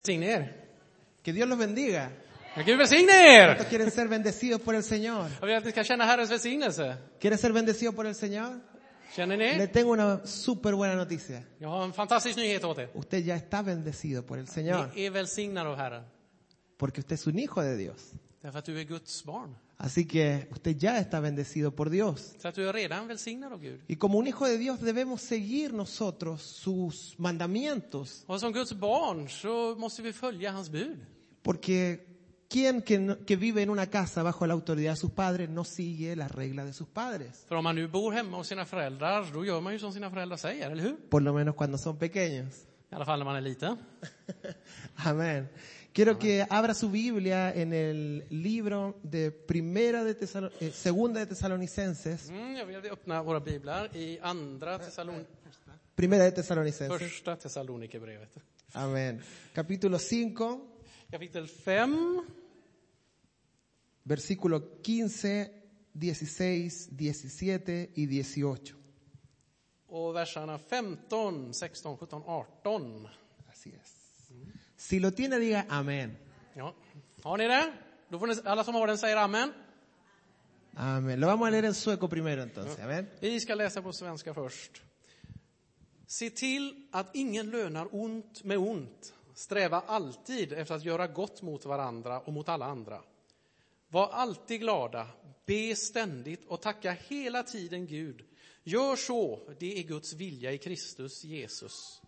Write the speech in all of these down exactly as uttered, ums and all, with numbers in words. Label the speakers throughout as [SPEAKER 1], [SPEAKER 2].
[SPEAKER 1] Välsigne er.
[SPEAKER 2] Que Dios los bendiga.
[SPEAKER 1] Ja, Gud välsigne er.
[SPEAKER 2] ¿Cuántos quieren ser bendecidos por el Señor?
[SPEAKER 1] Jag vill att ni ska känna Herrens välsignelse.
[SPEAKER 2] ¿Quieren ser bendecidos por el Señor?
[SPEAKER 1] Känner
[SPEAKER 2] Le
[SPEAKER 1] ni?
[SPEAKER 2] tengo una súper buena noticia.
[SPEAKER 1] Jag har en fantastisk nyhet åt er.
[SPEAKER 2] Usted ya está bendecido por el Señor.
[SPEAKER 1] Ni är välsignade av Herren.
[SPEAKER 2] Porque usted es un hijo de Dios.
[SPEAKER 1] Därför att du är Guds barn.
[SPEAKER 2] Así que usted ya está bendecido por Dios.
[SPEAKER 1] Så att du är redan välsignad av Gud.
[SPEAKER 2] Y como un hijo de Dios debemos seguir nosotros sus mandamientos.
[SPEAKER 1] Och som Guds barn så måste vi följa hans bud.
[SPEAKER 2] Porque quien que, no- que vive en una casa bajo la autoridad de sus padres no sigue las reglas de sus padres.
[SPEAKER 1] För om man nu bor hemma hos sina föräldrar, då gör man ju som sina föräldrar säger, eller hur?
[SPEAKER 2] Por lo menos cuando son pequeños.
[SPEAKER 1] I alla fall när man är liten.
[SPEAKER 2] Amén. Quiero que abra su Biblia en el libro de Primera de Tesalo- eh, Segunda de Tesalonicenses.
[SPEAKER 1] Mm, jag vill öppna våra biblar i andra Thessalon-
[SPEAKER 2] Primera de Tesalonicenses.
[SPEAKER 1] första Thessalonikerbrevet.
[SPEAKER 2] Amén. Capítulo cinco,
[SPEAKER 1] Kapitel fem,
[SPEAKER 2] versículo quince, dieciséis, diecisiete y dieciocho.
[SPEAKER 1] och verserna femton, sexton, sjutton, arton.
[SPEAKER 2] Así es. Si lo tiene, diga amén.
[SPEAKER 1] Ja. Har ni det? Då får ni, alla som har den säger amen.
[SPEAKER 2] Amén. Lo vamos a leer en sueco primero entonces. Amén.
[SPEAKER 1] Vi ska läsa på svenska först. Se till att ingen lönar ont med ont. Sträva alltid efter att göra gott mot varandra och mot alla andra. Var alltid glada, be ständigt och tacka hela tiden Gud. Gör så, det är Guds vilja i Kristus Jesus.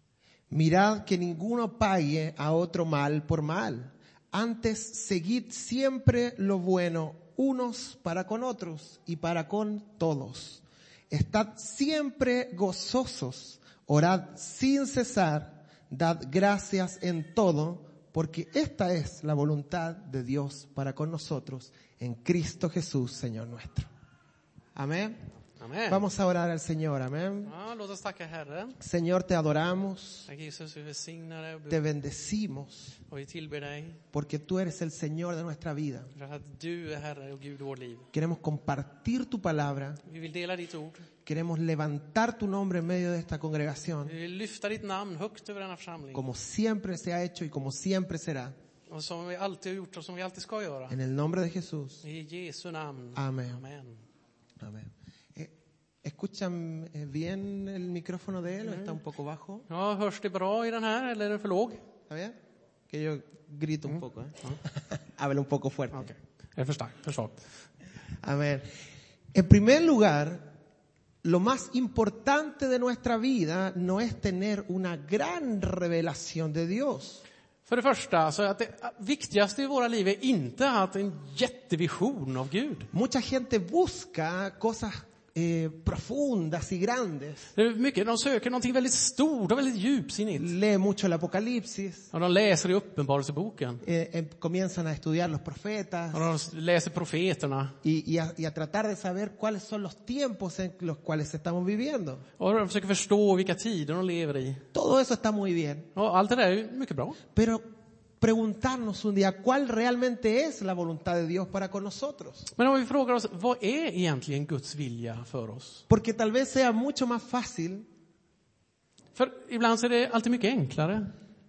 [SPEAKER 2] Mirad que ninguno pague a otro mal por mal. Antes, seguid siempre lo bueno unos para con otros y para con todos. Estad siempre gozosos, orad sin cesar, dad gracias en todo, porque esta es la voluntad de Dios para con nosotros en Cristo Jesús, Señor nuestro. Amén.
[SPEAKER 1] Amen.
[SPEAKER 2] Vamos a orar al Señor, amén.
[SPEAKER 1] Ja, låt oss tacka Herren.
[SPEAKER 2] Señor, te adoramos,
[SPEAKER 1] Tack Jesus, vi välsignar dig
[SPEAKER 2] te bendecimos,
[SPEAKER 1] och vi tillber dig.
[SPEAKER 2] porque tú eres el Señor de nuestra vida.
[SPEAKER 1] För att du är Herre och Gud i vårt liv.
[SPEAKER 2] Queremos compartir tu palabra,
[SPEAKER 1] Vi vill dela ditt ord.
[SPEAKER 2] queremos levantar tu nombre en medio de esta congregación,
[SPEAKER 1] Vi vill lyfta ditt namn högt över denna församling.
[SPEAKER 2] como siempre se ha hecho y como siempre será.
[SPEAKER 1] Och som vi alltid har gjort och som vi alltid ska göra.
[SPEAKER 2] En el nombre de Jesús.
[SPEAKER 1] I Jesu namn.
[SPEAKER 2] Amén.
[SPEAKER 1] Amen.
[SPEAKER 2] Amén. Eh, ¿Escuchan eh, bien el micrófono de él o está un poco bajo?
[SPEAKER 1] Ja, hörs det bra i den här eller är den för låg?
[SPEAKER 2] ¿Está bien? Que yo grito un poco, ¿eh? Habla un poco fuerte.
[SPEAKER 1] Okej. Är det för starkt? För svagt?
[SPEAKER 2] Amén. En primer lugar, lo más importante de nuestra vida no es tener una gran revelación de Dios.
[SPEAKER 1] För det första, så att det viktigaste i våra liv är inte att en jättevision av Gud.
[SPEAKER 2] Mucha gente busca cosas eh, profundas y grandes.
[SPEAKER 1] Det är mycket, de söker någonting väldigt stort och väldigt djupsinnigt.
[SPEAKER 2] Lee mucho el Apocalipsis,
[SPEAKER 1] Och de läser i Uppenbarelseboken.
[SPEAKER 2] eh, eh, comienzan a estudiar los profetas
[SPEAKER 1] Och de läser profeterna.
[SPEAKER 2] y, y, a, y a tratar de saber cuáles son los tiempos en los cuales estamos viviendo.
[SPEAKER 1] Och de försöker förstå vilka tider de lever i.
[SPEAKER 2] Todo eso está muy bien,
[SPEAKER 1] Och allt det där är ju mycket bra.
[SPEAKER 2] pero preguntarnos un día cuál realmente es la voluntad de Dios para con nosotros.
[SPEAKER 1] Men om vi frågar oss, vad är egentligen Guds vilja för oss?
[SPEAKER 2] Porque tal vez sea mucho más fácil
[SPEAKER 1] För ibland så är det alltid mycket enklare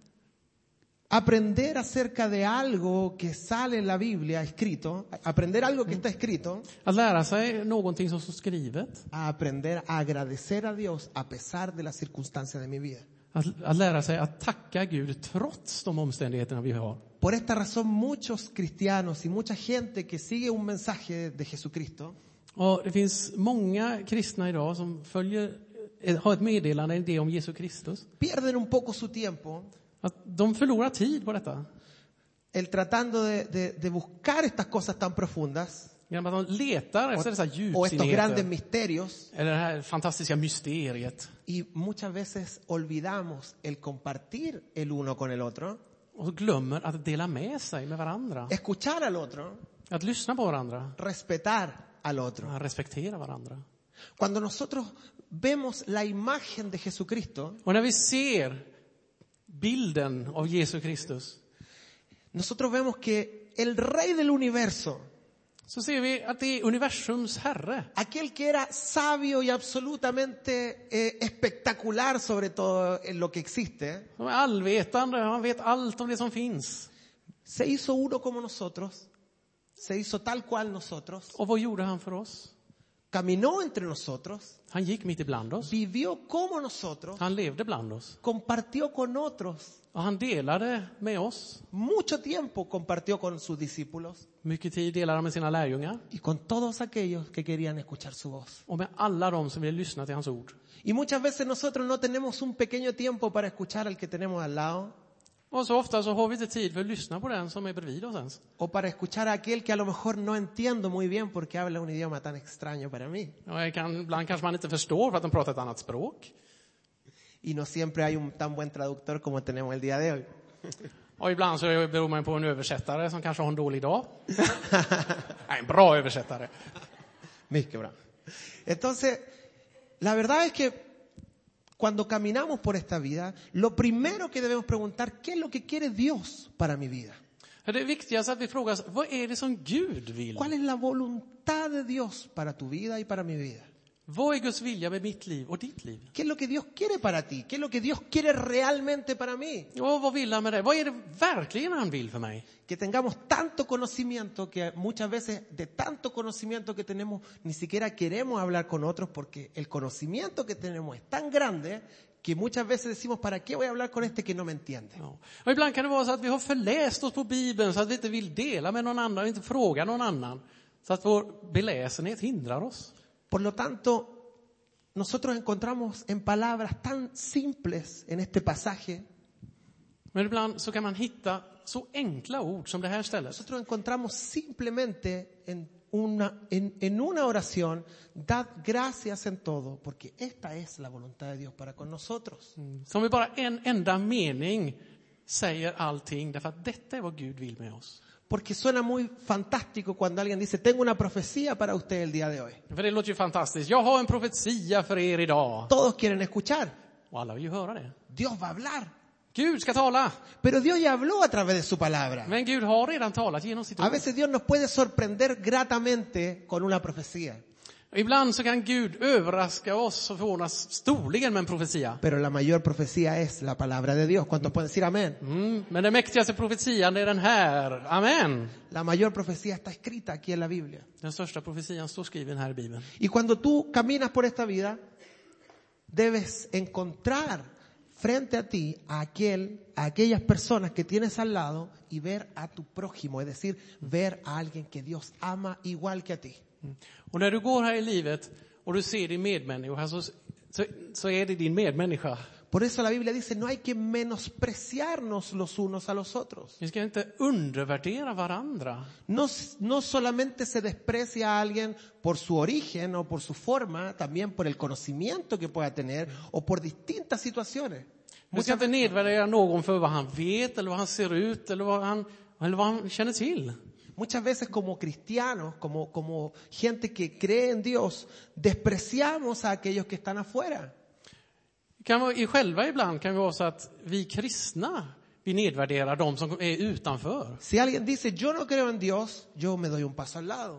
[SPEAKER 2] aprender acerca de algo que sale en la Biblia escrito, aprender algo que está escrito,
[SPEAKER 1] att lära sig någonting som står skrivet.
[SPEAKER 2] a aprender a agradecer a Dios a pesar de las circunstancias de mi vida.
[SPEAKER 1] Att, att lära sig att tacka Gud trots de omständigheterna vi har.
[SPEAKER 2] Por esta razón muchos cristianos y mucha gente que sigue un mensaje de Jesucristo
[SPEAKER 1] Och det finns många kristna idag som följer, eh, har ett meddelande, en idé om Jesus Kristus.
[SPEAKER 2] pierden un poco su tiempo
[SPEAKER 1] Att de förlorar tid på detta.
[SPEAKER 2] el tratando de, de, de buscar estas cosas tan profundas
[SPEAKER 1] Genom att de letar efter dessa
[SPEAKER 2] o estos grandes
[SPEAKER 1] djupsinnigheter.
[SPEAKER 2] misterios
[SPEAKER 1] Eller det här fantastiska mysteriet.
[SPEAKER 2] y muchas veces olvidamos el compartir el uno con el otro,
[SPEAKER 1] Och glömmer att dela med sig med varandra.
[SPEAKER 2] escuchar al otro,
[SPEAKER 1] Att lyssna på varandra.
[SPEAKER 2] respetar al otro.
[SPEAKER 1] Att respektera varandra.
[SPEAKER 2] Cuando nosotros vemos la imagen de Jesucristo,
[SPEAKER 1] Och när vi ser bilden av Jesus Kristus,
[SPEAKER 2] nosotros vemos que el Rey del universo,
[SPEAKER 1] så ser vi att det är universums herre.
[SPEAKER 2] Aquel que era sabio y absolutamente eh, espectacular sobre todo en lo que existe,
[SPEAKER 1] Som är allvetande, han vet allt om det som finns.
[SPEAKER 2] se hizo uno como nosotros, se hizo tal cual nosotros,
[SPEAKER 1] Och vad gjorde han för oss?
[SPEAKER 2] caminó entre nosotros,
[SPEAKER 1] Han gick mitt ibland oss.
[SPEAKER 2] vivió como nosotros,
[SPEAKER 1] Han levde bland oss.
[SPEAKER 2] compartió con otros,
[SPEAKER 1] Och han delade med oss.
[SPEAKER 2] mucho tiempo compartió con sus discípulos
[SPEAKER 1] Mycket tid delade han med sina lärjungar.
[SPEAKER 2] y con todos aquellos que querían escuchar su voz.
[SPEAKER 1] Och med alla de som ville lyssna till hans ord.
[SPEAKER 2] Y muchas veces nosotros no tenemos un pequeño tiempo para escuchar al que tenemos al lado,
[SPEAKER 1] Och så ofta så har vi inte tid för att lyssna på den som är bredvid oss ens.
[SPEAKER 2] o para escuchar a aquel que a lo mejor no entiendo muy bien porque habla un idioma tan extraño para mí.
[SPEAKER 1] Och jag kan, ibland kanske man inte förstår för att de pratar ett annat språk.
[SPEAKER 2] Y no siempre hay un tan buen traductor como tenemos el día de hoy.
[SPEAKER 1] Och ibland så beror man på en översättare som kanske har en dålig dag. Nej, en bra översättare.
[SPEAKER 2] Mycket bra. Entonces, la verdad es que cuando caminamos por esta vida, lo primero que debemos preguntar, ¿qué es lo que quiere Dios para mi vida?
[SPEAKER 1] För det viktigaste är att vi frågar oss, vad är det som Gud vill?
[SPEAKER 2] ¿Cuál es la voluntad de Dios para tu vida y para mi vida?
[SPEAKER 1] Vad är Guds vilja med mitt liv och ditt liv?
[SPEAKER 2] ¿Qué es lo que Dios quiere para ti? ¿Qué es lo que Dios quiere realmente para mí?
[SPEAKER 1] Och vad vill han med det? Vad är det verkligen han vill för mig?
[SPEAKER 2] Que tengamos tanto conocimiento que muchas veces de tanto conocimiento que tenemos ni siquiera queremos hablar con otros porque el conocimiento que tenemos es tan grande que muchas veces decimos, ¿para qué voy a hablar con este que no me entiende?
[SPEAKER 1] Ja. Och ibland kan det vara så att vi har förläst oss på Bibeln så att vi inte vill dela med någon annan, inte fråga någon annan. Så att vår beläsenhet hindrar oss.
[SPEAKER 2] Por lo tanto, nosotros encontramos en palabras tan simples en este pasaje,
[SPEAKER 1] Men ibland så kan man hitta så enkla ord som det här stället.
[SPEAKER 2] nosotros encontramos simplemente en una, en, en una oración, dad gracias en todo, porque esta es la voluntad de Dios para con nosotros.
[SPEAKER 1] Som vi bara en enda mening säger allting därför att detta är vad Gud vill med oss.
[SPEAKER 2] Porque suena muy fantástico cuando alguien dice, tengo una profecía para usted el día de hoy.
[SPEAKER 1] För det låter ju fantastiskt. Jag har en profetia för er idag.
[SPEAKER 2] Todos quieren escuchar.
[SPEAKER 1] Och alla vill ju höra det.
[SPEAKER 2] Dios va a hablar.
[SPEAKER 1] Gud ska tala.
[SPEAKER 2] Pero Dios ya habló a través de su palabra.
[SPEAKER 1] Men Gud har redan talat genom sitt
[SPEAKER 2] A
[SPEAKER 1] ord.
[SPEAKER 2] veces Dios nos puede sorprender gratamente con una profecía.
[SPEAKER 1] Ibland så kan Gud överraska oss och förvåna storligen med en profetia.
[SPEAKER 2] Pero la mayor profecía es la palabra de Dios. ¿Cuántos pueden decir amén?
[SPEAKER 1] Mm, men den mäktigaste profetian är den här. Amen.
[SPEAKER 2] La mayor profecía está escrita aquí en la Biblia.
[SPEAKER 1] Den största profetian står skriven här i Bibeln.
[SPEAKER 2] Y cuando tú caminas por esta vida, debes encontrar frente a ti a aquel, a aquellas personas que tienes al lado y ver a tu prójimo, es decir, ver a alguien que Dios ama igual que a ti.
[SPEAKER 1] Och när du går här i livet och du ser din medmänniska så, så, så är det din medmänniska.
[SPEAKER 2] Por eso la Biblia dice, no hay que menospreciarnos los unos a los otros.
[SPEAKER 1] Vi ska inte undervärdera varandra.
[SPEAKER 2] No, no solamente se desprecia a alguien por su origen o por su forma, también por el conocimiento que pueda tener o por distintas situaciones.
[SPEAKER 1] Vi ska inte nedvärdera någon för vad han vet eller vad han ser ut eller vad han, eller vad han känner till.
[SPEAKER 2] Muchas veces como cristianos, como, como gente que cree en Dios, despreciamos a aquellos que están afuera.
[SPEAKER 1] Kan vara, i själva ibland kan det vara så att vi kristna vi nedvärderar de som är utanför.
[SPEAKER 2] Si alguien dice, yo no creo en Dios, yo me doy un paso al lado.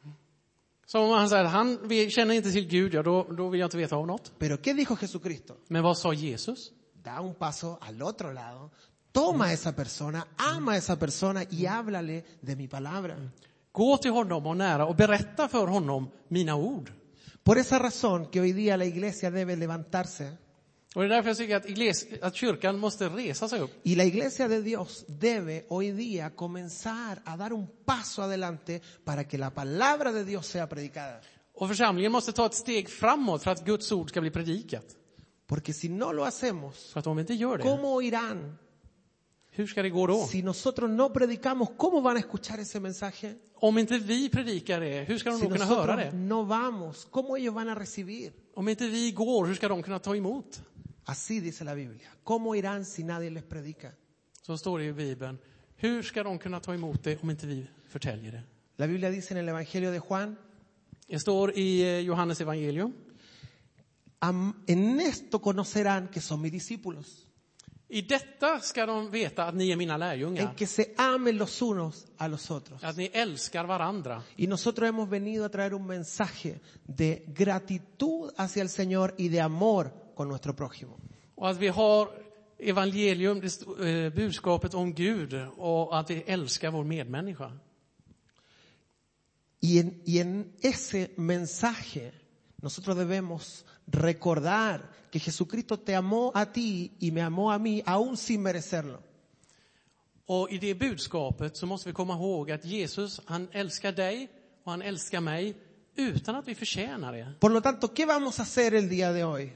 [SPEAKER 1] Så om han säger han vi känner inte till Gud, ja, då, då vill jag inte veta av något.
[SPEAKER 2] Pero ¿qué dijo Jesucristo?
[SPEAKER 1] Men vad sa Jesus?
[SPEAKER 2] Da un paso al otro lado, toma a esa persona, ama a esa persona y háblale de mi palabra.
[SPEAKER 1] Gå till honom och nära och berätta för honom mina ord.
[SPEAKER 2] Por esa razón que hoy día la iglesia debe levantarse.
[SPEAKER 1] Och det är därför jag tycker att, igles, att kyrkan måste resa sig upp.
[SPEAKER 2] Y la iglesia de Dios debe hoy día comenzar a dar un paso adelante para que la palabra de Dios sea predicada.
[SPEAKER 1] Och församlingen måste ta ett steg framåt för att Guds ord ska bli predikat.
[SPEAKER 2] Porque si no lo hacemos,
[SPEAKER 1] För att om vi inte gör det,
[SPEAKER 2] ¿cómo oirán?
[SPEAKER 1] hur ska det gå då?
[SPEAKER 2] Si nosotros no predicamos, ¿cómo van a escuchar ese mensaje?
[SPEAKER 1] Om inte vi predikar det, hur ska de
[SPEAKER 2] Si
[SPEAKER 1] då kunna höra
[SPEAKER 2] nosotros
[SPEAKER 1] det?
[SPEAKER 2] no vamos, ¿cómo ellos van a recibir?
[SPEAKER 1] Om inte vi går, hur ska de kunna ta emot?
[SPEAKER 2] Así dice la Biblia. ¿Cómo irán si nadie les predica?
[SPEAKER 1] Så står det i Bibeln. Hur ska de kunna ta emot det om inte vi förtäljer det?
[SPEAKER 2] La Biblia dice en el Evangelio de Juan,
[SPEAKER 1] Det står i Johannes evangelium.
[SPEAKER 2] en esto conocerán que son mis discípulos.
[SPEAKER 1] I detta ska de veta att ni är mina
[SPEAKER 2] en
[SPEAKER 1] lärjungar.
[SPEAKER 2] que se amen los unos a los otros.
[SPEAKER 1] Att ni älskar varandra.
[SPEAKER 2] Y nosotros hemos venido a traer un mensaje de gratitud hacia el Señor y de amor con nuestro prójimo.
[SPEAKER 1] Och att vi har evangelium, det st- eh, budskapet om Gud och att vi älskar vår medmänniska.
[SPEAKER 2] Y en, y en ese mensaje nosotros debemos recordar que Jesucristo te amó a ti y me amó a mí aún sin merecerlo.
[SPEAKER 1] Och i det budskapet så måste vi komma ihåg att Jesus, han älskar dig och han älskar mig utan att vi förtjänar det.
[SPEAKER 2] Por lo tanto, ¿qué vamos a hacer el día de hoy?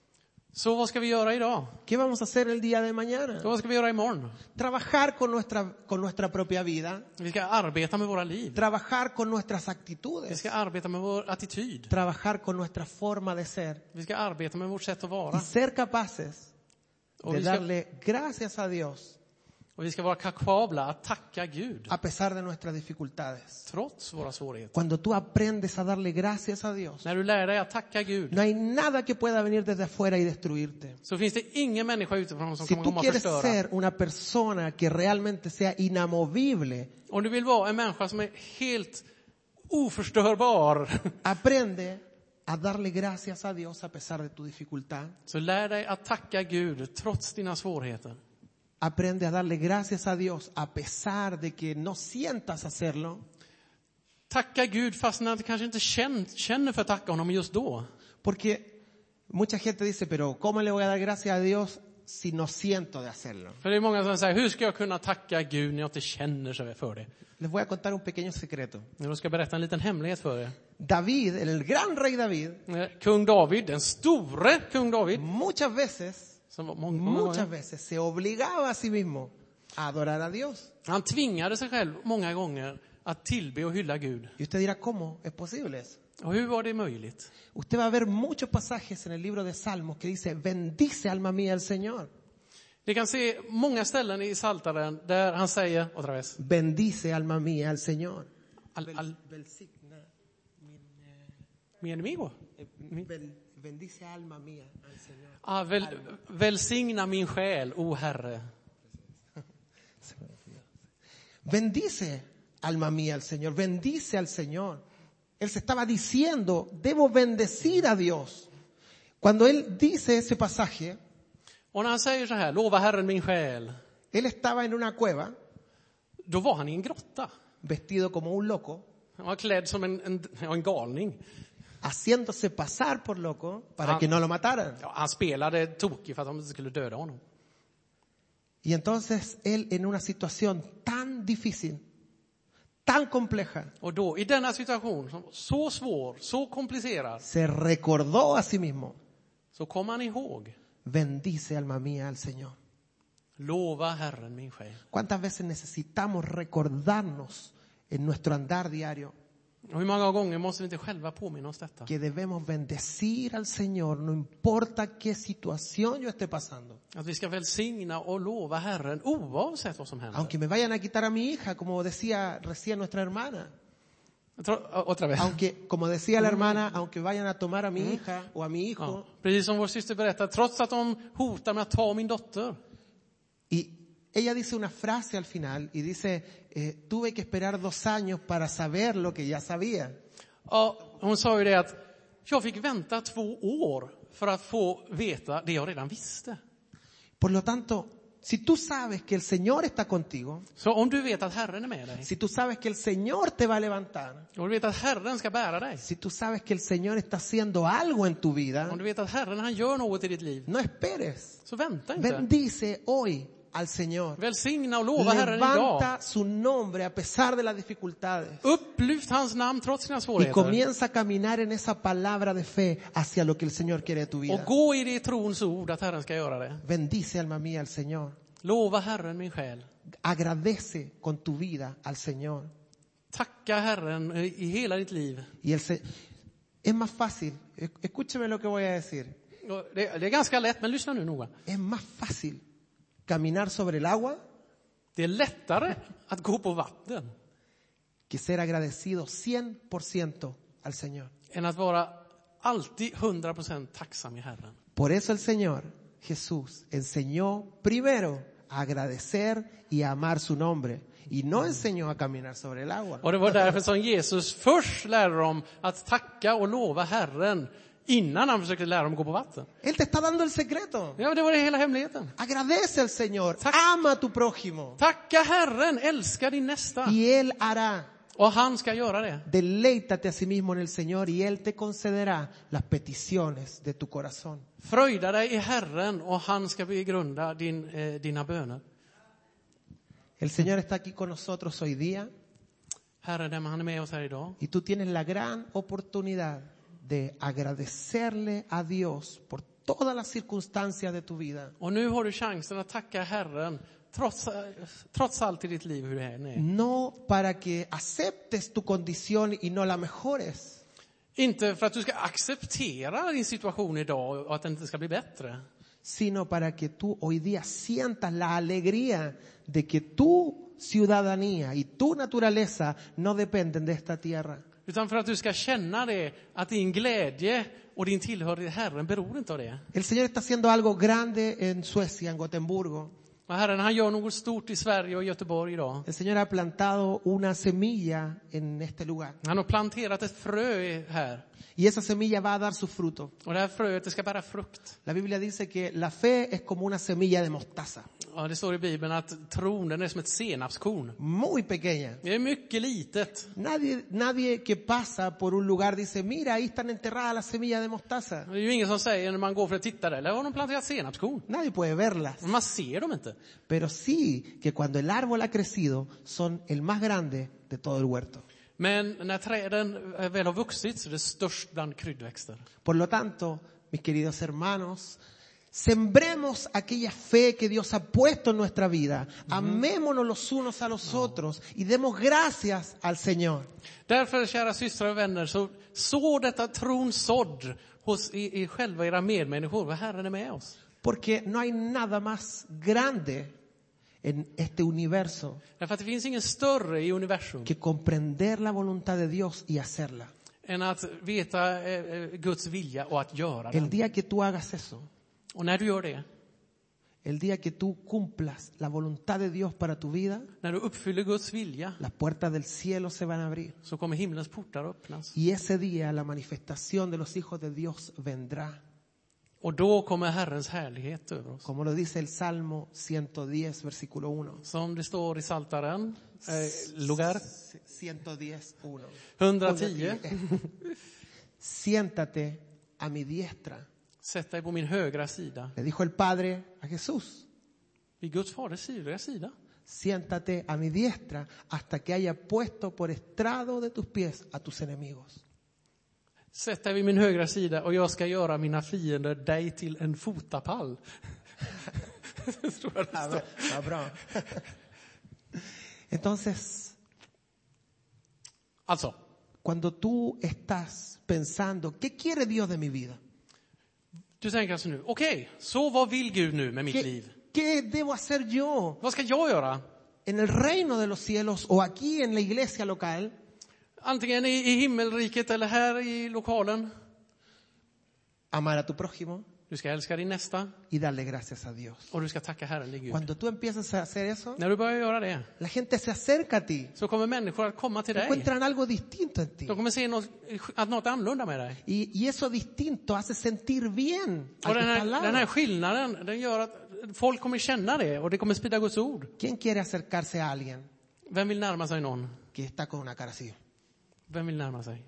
[SPEAKER 1] Så vad ska vi göra idag?
[SPEAKER 2] ¿Qué vamos a hacer el día de mañana?
[SPEAKER 1] Så vad ska vi göra imorgon?
[SPEAKER 2] Trabajar con nuestra, con nuestra propia vida,
[SPEAKER 1] Vi ska arbeta med våra liv.
[SPEAKER 2] trabajar con nuestras
[SPEAKER 1] Vi
[SPEAKER 2] actitudes,
[SPEAKER 1] ska arbeta med vår attityd.
[SPEAKER 2] trabajar con nuestra forma de ser
[SPEAKER 1] Vi ska arbeta med vårt sätt att
[SPEAKER 2] y
[SPEAKER 1] vara.
[SPEAKER 2] ser capaces
[SPEAKER 1] Och
[SPEAKER 2] de
[SPEAKER 1] vi ska,
[SPEAKER 2] darle gracias a Dios
[SPEAKER 1] och vi ska vara kapabla att tacka Gud
[SPEAKER 2] a pesar de nuestras dificultades.
[SPEAKER 1] trots våra svårigheter.
[SPEAKER 2] Cuando tú aprendes a darle gracias a Dios,
[SPEAKER 1] När du lär dig att tacka Gud
[SPEAKER 2] no hay nada que pueda venir desde afuera y destruirte.
[SPEAKER 1] så finns det ingen människa utifrån som
[SPEAKER 2] Si
[SPEAKER 1] kommer
[SPEAKER 2] tú
[SPEAKER 1] komma och
[SPEAKER 2] quieres
[SPEAKER 1] förstöra.
[SPEAKER 2] ser una persona que realmente sea inamovible,
[SPEAKER 1] Om du vill vara en människa som är helt oförstörbar
[SPEAKER 2] aprende a darle gracias a Dios a pesar de tu dificultad.
[SPEAKER 1] så lär dig att tacka Gud trots dina svårigheter.
[SPEAKER 2] Aprende a darle gracias a Dios a pesar de que no sientas hacerlo.
[SPEAKER 1] Tacka Gud fast när du kanske inte känner, känner för att tacka honom just då.
[SPEAKER 2] Porque mucha gente dice, pero ¿cómo le voy a dar gracias a Dios si no siento de hacerlo?
[SPEAKER 1] För det är många som säger, hur ska jag kunna tacka Gud när jag inte känner sig för det?
[SPEAKER 2] Les voy a contar un pequeño secreto.
[SPEAKER 1] Jag ska berätta en liten hemlighet för er.
[SPEAKER 2] David, el gran rey David,
[SPEAKER 1] Eh, Kung David, den store kung David,
[SPEAKER 2] muchas veces,
[SPEAKER 1] som var många, många
[SPEAKER 2] muchas
[SPEAKER 1] gånger,
[SPEAKER 2] veces se obligaba a sí mismo a adorar a Dios.
[SPEAKER 1] han tvingade sig själv många gånger att tillbe och hylla Gud.
[SPEAKER 2] Y usted dirá, ¿cómo es posible eso?
[SPEAKER 1] Och hur var det möjligt?
[SPEAKER 2] Usted va a ver muchos pasajes en el libro de Salmos que dice, bendice alma mía el Señor.
[SPEAKER 1] Ni kan se många ställen i Psaltaren där han säger, otra vez,
[SPEAKER 2] Bendice alma mía al Señor.
[SPEAKER 1] al, al,
[SPEAKER 2] Belsigna min,
[SPEAKER 1] mi enemigo.
[SPEAKER 2] eh, bel- bendice alma mía al Señor.
[SPEAKER 1] Ah, väl, välsigna min själ, o Herre.
[SPEAKER 2] Bendice alma mía al Señor, bendice al Señor. Él se estaba diciendo, debo bendecir a Dios. Cuando él dice ese pasaje,
[SPEAKER 1] Och när han säger så här, lova Herren min själ,
[SPEAKER 2] él estaba en una cueva,
[SPEAKER 1] då var han i en grotta.
[SPEAKER 2] vestido como un loco,
[SPEAKER 1] Han var klädd som en, en, ja, en galning.
[SPEAKER 2] haciéndose pasar por loco para
[SPEAKER 1] Ah.
[SPEAKER 2] que no lo mataran.
[SPEAKER 1] Ja, han spelade tokig för att de inte skulle döda honom.
[SPEAKER 2] Y entonces él, en una situación tan difícil, tan compleja,
[SPEAKER 1] Och då, i denna situation, som var så svår, så komplicerad,
[SPEAKER 2] se recordó a sí mismo,
[SPEAKER 1] så kom han ihåg,
[SPEAKER 2] bendice alma mía al Señor.
[SPEAKER 1] lova Herren min själ.
[SPEAKER 2] ¿Cuántas veces necesitamos recordarnos en nuestro andar diario
[SPEAKER 1] Och hur många gånger måste vi inte själva påminna oss detta?
[SPEAKER 2] que debemos bendecir al Señor, no importa qué situación yo esté pasando?
[SPEAKER 1] Att vi ska välsigna och lova Herren oavsett vad som händer.
[SPEAKER 2] Aunque me vayan a quitar a mi hija, como decía recién nuestra hermana.
[SPEAKER 1] Jag tror, å- otra vez.
[SPEAKER 2] Aunque, como decía la hermana, aunque vayan a tomar a mi hija o a mi hijo.
[SPEAKER 1] Ja, precis som vår syster berättade, trots att de hotar med att ta min dotter.
[SPEAKER 2] Y ella dice una frase al final y dice, eh, tuve que esperar dos años para saber lo que ya sabía.
[SPEAKER 1] Ja, hon sa ju det att jag fick vänta två år för att få veta det jag redan visste.
[SPEAKER 2] Por lo tanto, si tú sabes que el Señor está contigo,
[SPEAKER 1] Så om du vet att Herren är med dig,
[SPEAKER 2] si tú sabes que el Señor te va a levantar,
[SPEAKER 1] om du vet att Herren ska bära dig,
[SPEAKER 2] si tú sabes que el Señor está haciendo algo en tu vida,
[SPEAKER 1] om du vet att Herren han gör något i ditt liv,
[SPEAKER 2] no esperes.
[SPEAKER 1] så vänta inte.
[SPEAKER 2] Bendice hoy al Señor.
[SPEAKER 1] Välsigna och lova Herren idag.
[SPEAKER 2] Levanta su nombre a pesar de las dificultades.
[SPEAKER 1] Upplyft hans namn trots sina
[SPEAKER 2] Y
[SPEAKER 1] svårigheter.
[SPEAKER 2] comienza a caminar en esa palabra de fe hacia lo que el Señor quiere de tu
[SPEAKER 1] Och
[SPEAKER 2] vida.
[SPEAKER 1] gå i det trons ord att Herren ska göra det.
[SPEAKER 2] Bendice alma mía al Señor.
[SPEAKER 1] Lova Herren min själ.
[SPEAKER 2] Agradece con tu vida al Señor.
[SPEAKER 1] Tacka Herren i hela ditt liv.
[SPEAKER 2] Y el se- es más fácil, escúcheme lo que voy a decir,
[SPEAKER 1] Och Det, det är ganska lätt, men lyssna nu noga.
[SPEAKER 2] es más fácil caminar sobre el agua
[SPEAKER 1] Det är lättare att gå på vatten
[SPEAKER 2] que ser agradecido cien por ciento al Señor.
[SPEAKER 1] än att vara alltid hundra procent tacksam i Herren.
[SPEAKER 2] Por eso el Señor Jesús enseñó primero a agradecer y a amar su nombre. Y no enseñó a caminar sobre el agua.
[SPEAKER 1] Och det var därför som Jesus först lärde dem att tacka och lova Herren innan han försökte lära dem att gå på vatten.
[SPEAKER 2] Él te está dando el secreto.
[SPEAKER 1] Ja, det var det hela hemligheten.
[SPEAKER 2] Agradece al Señor.
[SPEAKER 1] Tack.
[SPEAKER 2] Ama a tu prójimo.
[SPEAKER 1] Tacka Herren, älska din nästa.
[SPEAKER 2] Y Él hará.
[SPEAKER 1] Och han ska göra det.
[SPEAKER 2] Deleítate a sí mismo en el Señor y Él te concederá las peticiones de tu corazón.
[SPEAKER 1] Fröjda dig i Herren och han ska begrunda din, eh, dina böner.
[SPEAKER 2] El Señor está aquí con nosotros hoy día
[SPEAKER 1] Herren, han är med oss här idag.
[SPEAKER 2] y tú tienes la gran oportunidad de agradecerle a Dios por todas las circunstancias de tu vida.
[SPEAKER 1] Och nu har du chansen att tacka Herren trots, trots allt i ditt liv hur det än är.
[SPEAKER 2] No para que aceptes tu condición y no la mejores,
[SPEAKER 1] Inte för att du ska acceptera din situation idag och att den inte ska bli bättre.
[SPEAKER 2] sino para que tú hoy día sientas la alegría de que tu ciudadanía y tu naturaleza no dependen de esta tierra.
[SPEAKER 1] Utan för att du ska känna det, att din glädje och din tillhörighet till Herren beror inte av det.
[SPEAKER 2] El Señor está haciendo algo grande en Suecia, en Gotemburgo.
[SPEAKER 1] Och Herren, han gör något stort i Sverige och Göteborg idag.
[SPEAKER 2] El Señor ha plantado una semilla en este lugar.
[SPEAKER 1] Han har planterat ett frö här.
[SPEAKER 2] Y esa semilla va a dar su fruto.
[SPEAKER 1] Och det här fröet, det ska bära frukt.
[SPEAKER 2] La Biblia dice que la fe es como una semilla de mostaza.
[SPEAKER 1] Ja, det står i Bibeln att tron, den är som ett senapskorn.
[SPEAKER 2] Muy pequeña.
[SPEAKER 1] Det är mycket litet.
[SPEAKER 2] Nadie, nadie que pasa por un lugar dice, mira, ahí están enterradas las semillas de mostaza.
[SPEAKER 1] Det är ju ingen som säger när man går för att titta där, där har de planterat senapskorn.
[SPEAKER 2] Nadie puede verlas.
[SPEAKER 1] Men man ser dem inte.
[SPEAKER 2] Pero sí que cuando el árbol ha crecido, son el más grande de todo el huerto.
[SPEAKER 1] Men när träden väl har vuxit så är det störst bland kryddväxter.
[SPEAKER 2] Por lo tanto, mis queridos hermanos, sembremos aquella fe que Dios ha puesto en nuestra vida. Amémonos los unos a los otros y demos gracias al Señor.
[SPEAKER 1] Därför, kära systrar och vänner, så så detta trons sådd hos i, i själva era medmänniskor. Vad Herren är med oss.
[SPEAKER 2] Porque no hay nada más grande en este universo
[SPEAKER 1] Därför att det finns ingen större i universum
[SPEAKER 2] que comprender la voluntad de Dios y hacerla.
[SPEAKER 1] än att veta eh, Guds vilja och att göra
[SPEAKER 2] El
[SPEAKER 1] den.
[SPEAKER 2] día que tú hagas eso,
[SPEAKER 1] Och när du gör det,
[SPEAKER 2] el día que tú cumplas la voluntad de Dios para tu vida,
[SPEAKER 1] när du uppfyller Guds vilja,
[SPEAKER 2] las puertas del cielo se van a abrir.
[SPEAKER 1] så kommer himlens portar att öppnas.
[SPEAKER 2] Y ese día la manifestación de los hijos de Dios vendrá.
[SPEAKER 1] Och då kommer Herrens härlighet över oss.
[SPEAKER 2] Como lo dice el Salmo ciento diez, versículo uno.
[SPEAKER 1] Som det står i Psaltaren, eh, lugar
[SPEAKER 2] ciento diez, uno.
[SPEAKER 1] hundratio.
[SPEAKER 2] Siéntate a mi diestra.
[SPEAKER 1] Sätt dig på min högra sida.
[SPEAKER 2] Le dijo el Padre a Jesús.
[SPEAKER 1] Vid Guds faders högra sida.
[SPEAKER 2] Siéntate a mi diestra hasta que haya puesto por estrado de tus pies a tus enemigos.
[SPEAKER 1] Sätt dig vid min högra sida och jag ska göra mina fiender dig till en fotapall. Tror jag det står.
[SPEAKER 2] Ah, bra. Entonces,
[SPEAKER 1] Alltså,
[SPEAKER 2] cuando tú estás pensando, ¿qué quiere Dios de mi vida?
[SPEAKER 1] du tänker alltså nu, okej, okay, så vad vill Gud nu med mitt
[SPEAKER 2] ¿Qué,
[SPEAKER 1] liv?
[SPEAKER 2] ¿Qué debo hacer yo
[SPEAKER 1] Vad ska jag göra?
[SPEAKER 2] en el reino de los cielos o aquí en la iglesia local?
[SPEAKER 1] Antingen i, i himmelriket eller här i lokalen.
[SPEAKER 2] Amar a tu prójimo
[SPEAKER 1] Du ska älska din nästa
[SPEAKER 2] y darle gracias a Dios.
[SPEAKER 1] och du ska tacka Herren din Gud.
[SPEAKER 2] Cuando tú empiezas a hacer eso,
[SPEAKER 1] När du börjar göra det
[SPEAKER 2] la gente se acerca a ti.
[SPEAKER 1] så kommer människor att komma till dig.
[SPEAKER 2] Encuentran algo distinto en ti.
[SPEAKER 1] De kommer se något, att något är annorlunda med dig.
[SPEAKER 2] Y, y eso distinto hace sentir bien al
[SPEAKER 1] Och
[SPEAKER 2] que
[SPEAKER 1] den
[SPEAKER 2] está al
[SPEAKER 1] här, den här
[SPEAKER 2] lado.
[SPEAKER 1] skillnaden, den gör att folk kommer känna det och det kommer sprida Guds ord.
[SPEAKER 2] ¿Quién quiere acercarse a alguien
[SPEAKER 1] Vem vill närma sig någon?
[SPEAKER 2] que está con una cara así?
[SPEAKER 1] Vem vill närma sig?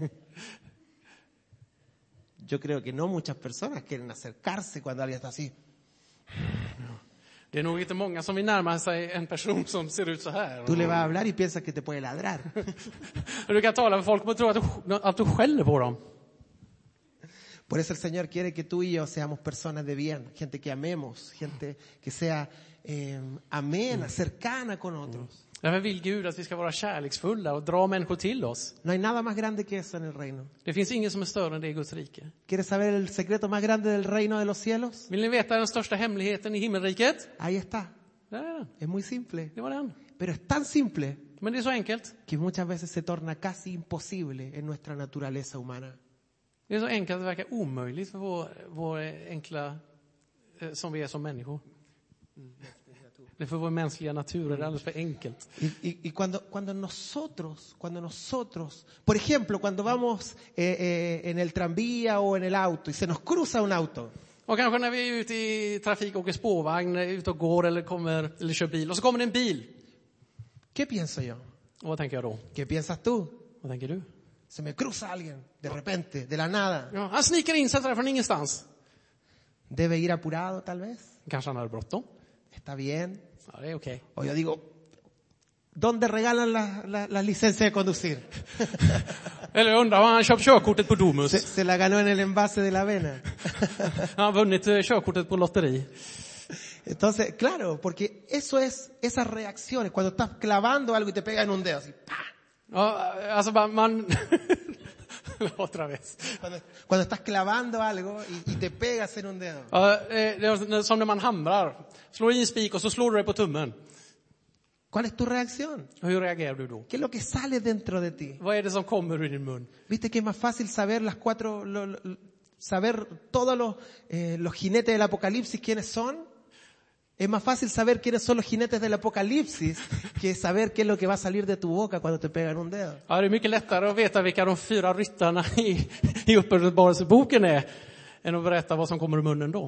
[SPEAKER 2] Yo creo que no muchas personas quieren acercarse cuando alguien está así.
[SPEAKER 1] Det är nog inte många som vill närma sig en person som ser ut så här.
[SPEAKER 2] Tú le vas a hablar y piensas que te puede ladrar.
[SPEAKER 1] Du kan tala med folk och tro att du, att du skäller på dem.
[SPEAKER 2] Por eso el Señor quiere que tú y yo seamos personas de bien, gente que amemos, gente que sea eh, amena, cercana con otros.
[SPEAKER 1] Därför vill Gud att vi ska vara kärleksfulla och dra människor till oss.
[SPEAKER 2] No hay nada más grande que eso en el reino.
[SPEAKER 1] Det finns ingen som är större än det i Guds rike.
[SPEAKER 2] ¿Quieres saber el secreto más grande del reino de los cielos?
[SPEAKER 1] Vill ni veta den största hemligheten i himmelriket?
[SPEAKER 2] Ahí está.
[SPEAKER 1] Där är den.
[SPEAKER 2] Es muy simple.
[SPEAKER 1] Det var den.
[SPEAKER 2] Pero es tan simple
[SPEAKER 1] Men det är så enkelt.
[SPEAKER 2] que muchas veces se torna casi imposible en nuestra naturaleza humana.
[SPEAKER 1] Det är så enkelt att det verkar omöjligt för vår, vår enkla eh, som vi är som människor. Det är för vår mänskliga natur, det är alldeles för enkelt.
[SPEAKER 2] Y, y, y cuando, cuando nosotros, cuando nosotros, por ejemplo, cuando vamos eh, eh, en el tranvía o en el auto y se nos cruza un auto,
[SPEAKER 1] Och kanske när vi är ute i trafik, åker spårvagn, är ute och går eller, kommer, eller kör bil. Och så kommer det en bil.
[SPEAKER 2] ¿qué pienso yo?
[SPEAKER 1] Och vad tänker jag då?
[SPEAKER 2] ¿Qué piensas tú?
[SPEAKER 1] Vad tänker du?
[SPEAKER 2] Se me cruza alguien, de repente, de la nada.
[SPEAKER 1] Ja, han sniker in sig där från ingenstans.
[SPEAKER 2] Debe ir apurado tal vez.
[SPEAKER 1] Kanske han hade bråttom.
[SPEAKER 2] Está bien.
[SPEAKER 1] Ja, det är okej.
[SPEAKER 2] O yo digo, ¿dónde regalan las la, la licencias de conducir?
[SPEAKER 1] Eller jag undrar, har han köpt körkortet på Domus?
[SPEAKER 2] Se, se la ganó en el envase de la vena.
[SPEAKER 1] Han har vunnit eh, körkortet på lotteri.
[SPEAKER 2] Entonces, claro, porque eso es esas reacciones. Cuando estás clavando algo y te pega en un dedo, así, ¡pah!
[SPEAKER 1] Ja, alltså man... man otra vez.
[SPEAKER 2] Cuando, cuando estás clavando algo y, y te pegas en un dedo.
[SPEAKER 1] Ja, eh, det är som när man hamrar. Slår i en spik och så slår du dig på tummen.
[SPEAKER 2] ¿Cuál es tu reacción?
[SPEAKER 1] Hur reagerar du då?
[SPEAKER 2] ¿Qué es lo que sale dentro de ti?
[SPEAKER 1] Vad är det som kommer ur din mun?
[SPEAKER 2] Viste que es más fácil saber las cuatro, lo, lo, saber todos los, eh, los jinetes del apocalipsis quiénes son. Es más fácil saber quiénes son los jinetes del apocalipsis que saber qué es lo que va a salir de tu boca cuando te pegan un dedo.
[SPEAKER 1] Ja, det är mycket lättare att veta vilka de fyra ryttarna i, i Uppenbarelseboken är än att berätta vad som kommer ur munnen då.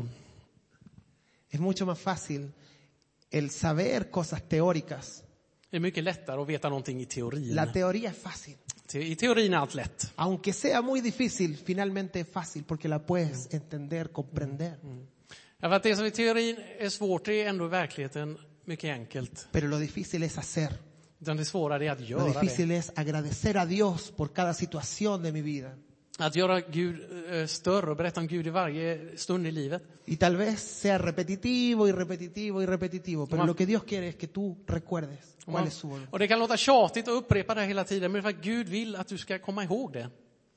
[SPEAKER 2] Es mucho más fácil el saber cosas teóricas.
[SPEAKER 1] Det är mycket lättare att veta någonting i teorin.
[SPEAKER 2] La teoría es fácil.
[SPEAKER 1] I teorin är allt lätt.
[SPEAKER 2] Aunque sea muy difícil, finalmente es fácil porque la puedes entender, comprender.
[SPEAKER 1] Ja, för att det som i teorin är svårt, det är ändå i verkligheten mycket enkelt.
[SPEAKER 2] Pero lo difícil es hacer.
[SPEAKER 1] Utan det svåra är att
[SPEAKER 2] Lo
[SPEAKER 1] göra
[SPEAKER 2] difícil
[SPEAKER 1] det.
[SPEAKER 2] es agradecer a Dios por cada situación de mi vida.
[SPEAKER 1] Att göra Gud eh, större och berätta om Gud i varje stund i livet.
[SPEAKER 2] Y tal vez sea repetitivo y repetitivo y repetitivo, pero
[SPEAKER 1] Man-
[SPEAKER 2] lo que Dios quiere es que tú recuerdes
[SPEAKER 1] Och
[SPEAKER 2] cuál
[SPEAKER 1] man-
[SPEAKER 2] es su voluntad.
[SPEAKER 1] Och det kan låta tjatigt att upprepa det hela tiden, men för att Gud vill att du ska komma ihåg det.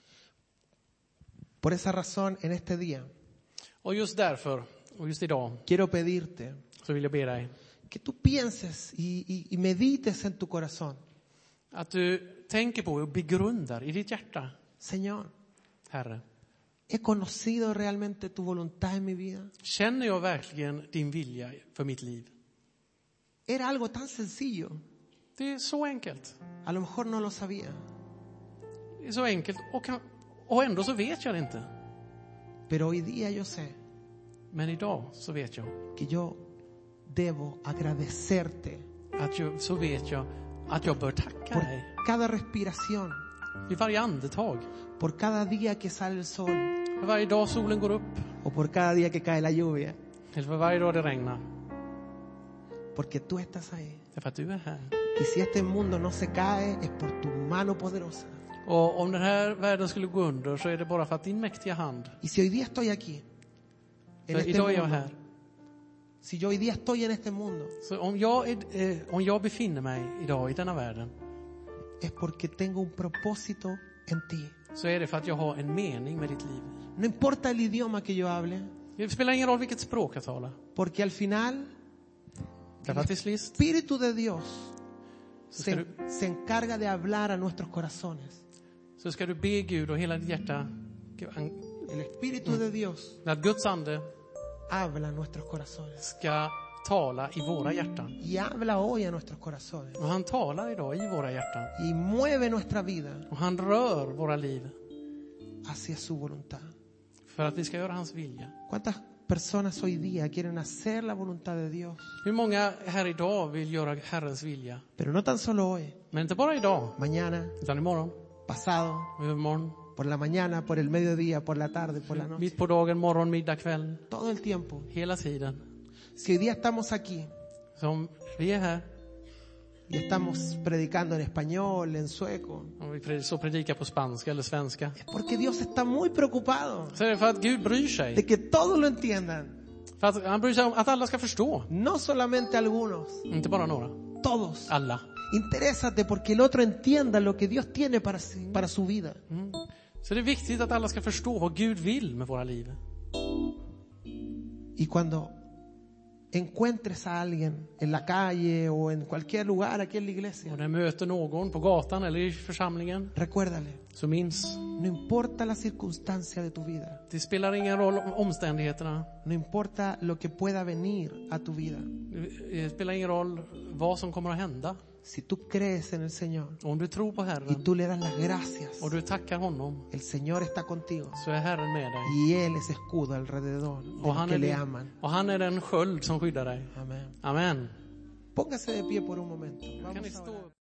[SPEAKER 2] Por esa razón, en este día,
[SPEAKER 1] Och just därför, och just idag,
[SPEAKER 2] quiero pedirte
[SPEAKER 1] så vill jag be dig
[SPEAKER 2] que tú pienses y, y- y medites en tu corazón.
[SPEAKER 1] att du tänker på och begrundar i ditt hjärta,
[SPEAKER 2] Señor,
[SPEAKER 1] Herre.
[SPEAKER 2] ¿he conocido realmente tu voluntad en mi vida?
[SPEAKER 1] Känner jag verkligen din vilja för mitt liv?
[SPEAKER 2] Era algo tan sencillo.
[SPEAKER 1] Det är så enkelt.
[SPEAKER 2] A lo mejor no lo sabía,
[SPEAKER 1] Det är så enkelt och, kan, och ändå så vet jag det inte.
[SPEAKER 2] pero hoy día yo sé
[SPEAKER 1] Men idag så vet jag
[SPEAKER 2] que yo debo agradecerte
[SPEAKER 1] att jag, så vet jag att jag bör tacka
[SPEAKER 2] por
[SPEAKER 1] dig
[SPEAKER 2] cada respiración,
[SPEAKER 1] vid varje andetag.
[SPEAKER 2] por cada día que sale el sol
[SPEAKER 1] För varje dag solen går upp
[SPEAKER 2] o por cada día que cae la lluvia,
[SPEAKER 1] eller för varje dag det regnar.
[SPEAKER 2] porque tú estás ahí.
[SPEAKER 1] Det är för att du är här.
[SPEAKER 2] Y si este mundo no se cae, es por tu mano poderosa.
[SPEAKER 1] Och om den här världen skulle gå under så är det bara för att din mäktiga hand.
[SPEAKER 2] Y si hoy día estoy aquí, en
[SPEAKER 1] För
[SPEAKER 2] este
[SPEAKER 1] idag är jag
[SPEAKER 2] mundo,
[SPEAKER 1] här.
[SPEAKER 2] si yo hoy día estoy en este mundo,
[SPEAKER 1] Så om jag, är, eh, om jag befinner mig idag i denna världen
[SPEAKER 2] es porque tengo un propósito en ti.
[SPEAKER 1] så är det för att jag har en mening med ditt liv.
[SPEAKER 2] No importa el idioma que yo hable,
[SPEAKER 1] Det spelar ingen roll vilket språk jag talar.
[SPEAKER 2] porque al final
[SPEAKER 1] Därför att till sist
[SPEAKER 2] Espíritu de Dios
[SPEAKER 1] så ska,
[SPEAKER 2] se,
[SPEAKER 1] du,
[SPEAKER 2] se encarga de hablar a nuestros corazones.
[SPEAKER 1] så ska du be Gud och hela ditt hjärta
[SPEAKER 2] El Espíritu de Dios
[SPEAKER 1] att Guds ande
[SPEAKER 2] habla a nuestros corazones.
[SPEAKER 1] ska tala i våra hjärtan.
[SPEAKER 2] Y habla hoy a nuestros corazones.
[SPEAKER 1] Och han talar idag i våra hjärtan.
[SPEAKER 2] Y mueve nuestra vida
[SPEAKER 1] Och han rör våra liv
[SPEAKER 2] hacia su voluntad.
[SPEAKER 1] för att vi ska göra hans vilja.
[SPEAKER 2] ¿Cuántas personas hoy día quieren hacer la voluntad de Dios?
[SPEAKER 1] Hur många här idag vill göra Herrens vilja?
[SPEAKER 2] Pero no tan solo hoy,
[SPEAKER 1] Men inte bara idag,
[SPEAKER 2] mañana,
[SPEAKER 1] utan imorgon,
[SPEAKER 2] pasado,
[SPEAKER 1] och övermorgon,
[SPEAKER 2] por la mañana, por el mediodía, por la tarde, por la noche.
[SPEAKER 1] mitt på dagen, morgon, middag, kväll,
[SPEAKER 2] Todo el tiempo.
[SPEAKER 1] hela tiden.
[SPEAKER 2] Si hoy día estamos aquí
[SPEAKER 1] Som vi är här
[SPEAKER 2] y estamos predicando en español, en sueco,
[SPEAKER 1] och vi pred- så predikar på spanska eller svenska,
[SPEAKER 2] es porque Dios está muy preocupado
[SPEAKER 1] så är det för att Gud bryr
[SPEAKER 2] de
[SPEAKER 1] sig.
[SPEAKER 2] que todos lo entiendan.
[SPEAKER 1] För att han bryr sig om att alla ska förstå.
[SPEAKER 2] No solamente algunos,
[SPEAKER 1] Inte bara några,
[SPEAKER 2] todos.
[SPEAKER 1] alla.
[SPEAKER 2] Interésate porque el otro entienda lo que Dios tiene para, sí- para su vida.
[SPEAKER 1] Mm. Så det är viktigt att alla ska förstå vad Gud vill med våra liv.
[SPEAKER 2] Y cuando encuentres a alguien en la calle o en cualquier lugar aquí en la iglesia,
[SPEAKER 1] Och när du möter någon på gatan eller i församlingen,
[SPEAKER 2] recuérdale,
[SPEAKER 1] så minns,
[SPEAKER 2] no importa la circunstancia de tu vida,
[SPEAKER 1] det spelar ingen roll om omständigheterna.
[SPEAKER 2] no importa lo que pueda venir a tu vida,
[SPEAKER 1] Det spelar ingen roll vad som kommer att hända.
[SPEAKER 2] si tú crees en el Señor
[SPEAKER 1] Om du tror på
[SPEAKER 2] y
[SPEAKER 1] Herren
[SPEAKER 2] tú le das las gracias,
[SPEAKER 1] och du tackar honom,
[SPEAKER 2] el Señor está contigo
[SPEAKER 1] så är Herren med dig.
[SPEAKER 2] y Él es escudo alrededor de
[SPEAKER 1] Och
[SPEAKER 2] los
[SPEAKER 1] han,
[SPEAKER 2] que
[SPEAKER 1] är
[SPEAKER 2] le
[SPEAKER 1] din,
[SPEAKER 2] aman.
[SPEAKER 1] och han är den sköld som skyddar dig.
[SPEAKER 2] Amén.
[SPEAKER 1] Amen.
[SPEAKER 2] Póngase de pie por un momento.
[SPEAKER 1] Kan
[SPEAKER 2] Vamos
[SPEAKER 1] ni
[SPEAKER 2] a orar.
[SPEAKER 1] stå upp?